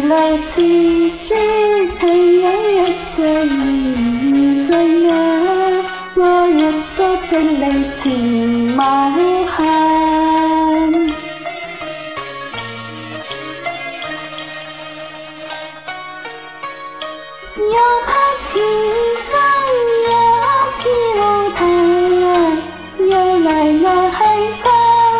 來自尊，係有一隻現在啊，我入咗的你前無限。又怕前生也知路途，又嚟我去翻。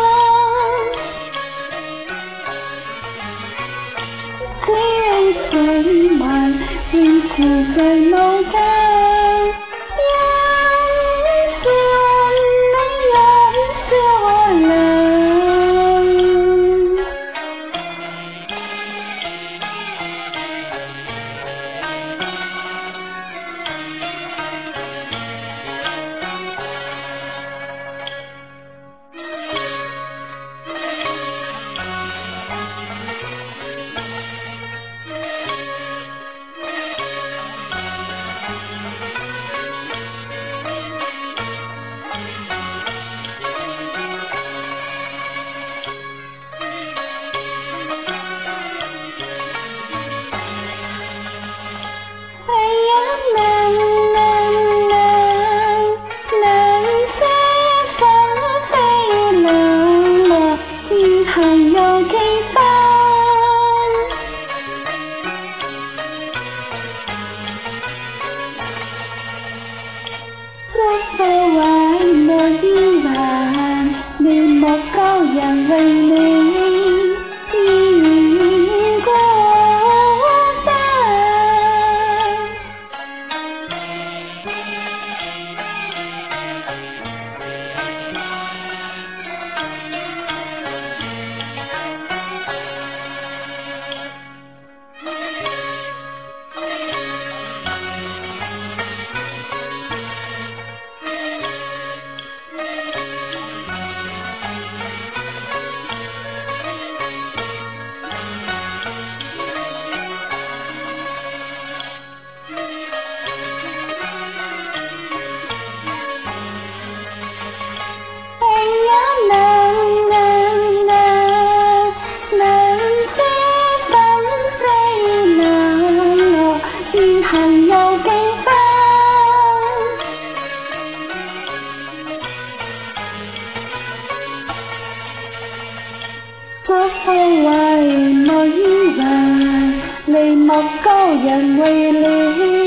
只因水漫，變潮在腦間。人說你也說我倆。這廢話沒依還，面目高人為你已過單。這廢話沒依還，眉目高人為你